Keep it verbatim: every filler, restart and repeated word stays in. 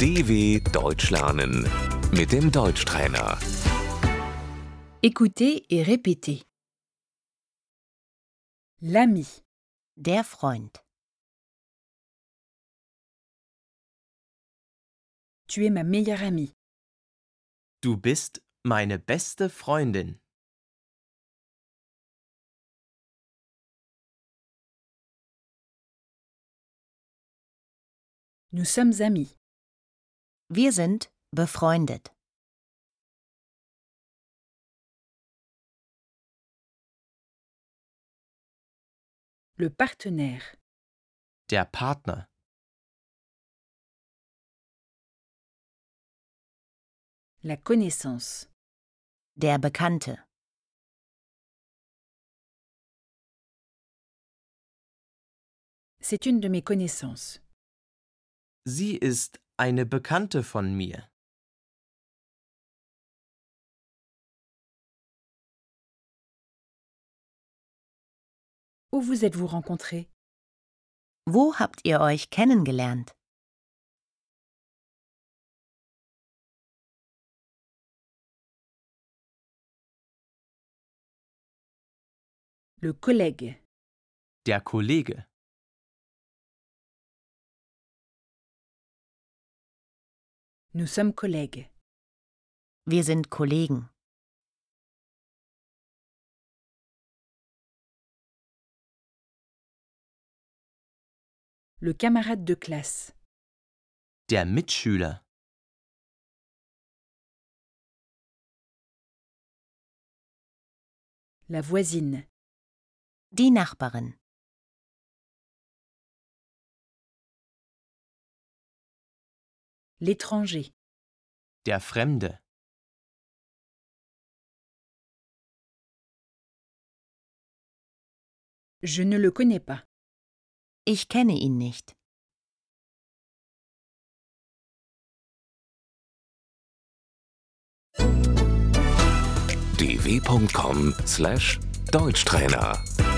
D W Deutsch lernen mit dem Deutschtrainer. Écoutez et répétez. L'ami, Der Freund. tu es ma meilleure amie. Du bist meine beste Freundin. Nous sommes amis. Wir sind befreundet. Le partenaire, Der Partner. la connaissance, Der Bekannte. c'est une de mes connaissances. Sie ist eine Bekannte von mir. Où vous êtes-vous rencontrés? Wo habt ihr euch kennengelernt? Le collègue, Der Kollege. nous sommes collègues. Wir sind Kollegen. Le camarade de classe, Der Mitschüler. la voisine, Die Nachbarin. l'étranger, Der Fremde. je ne le connais pas. Ich kenne ihn nicht. d w punkt com slash Deutschtrainer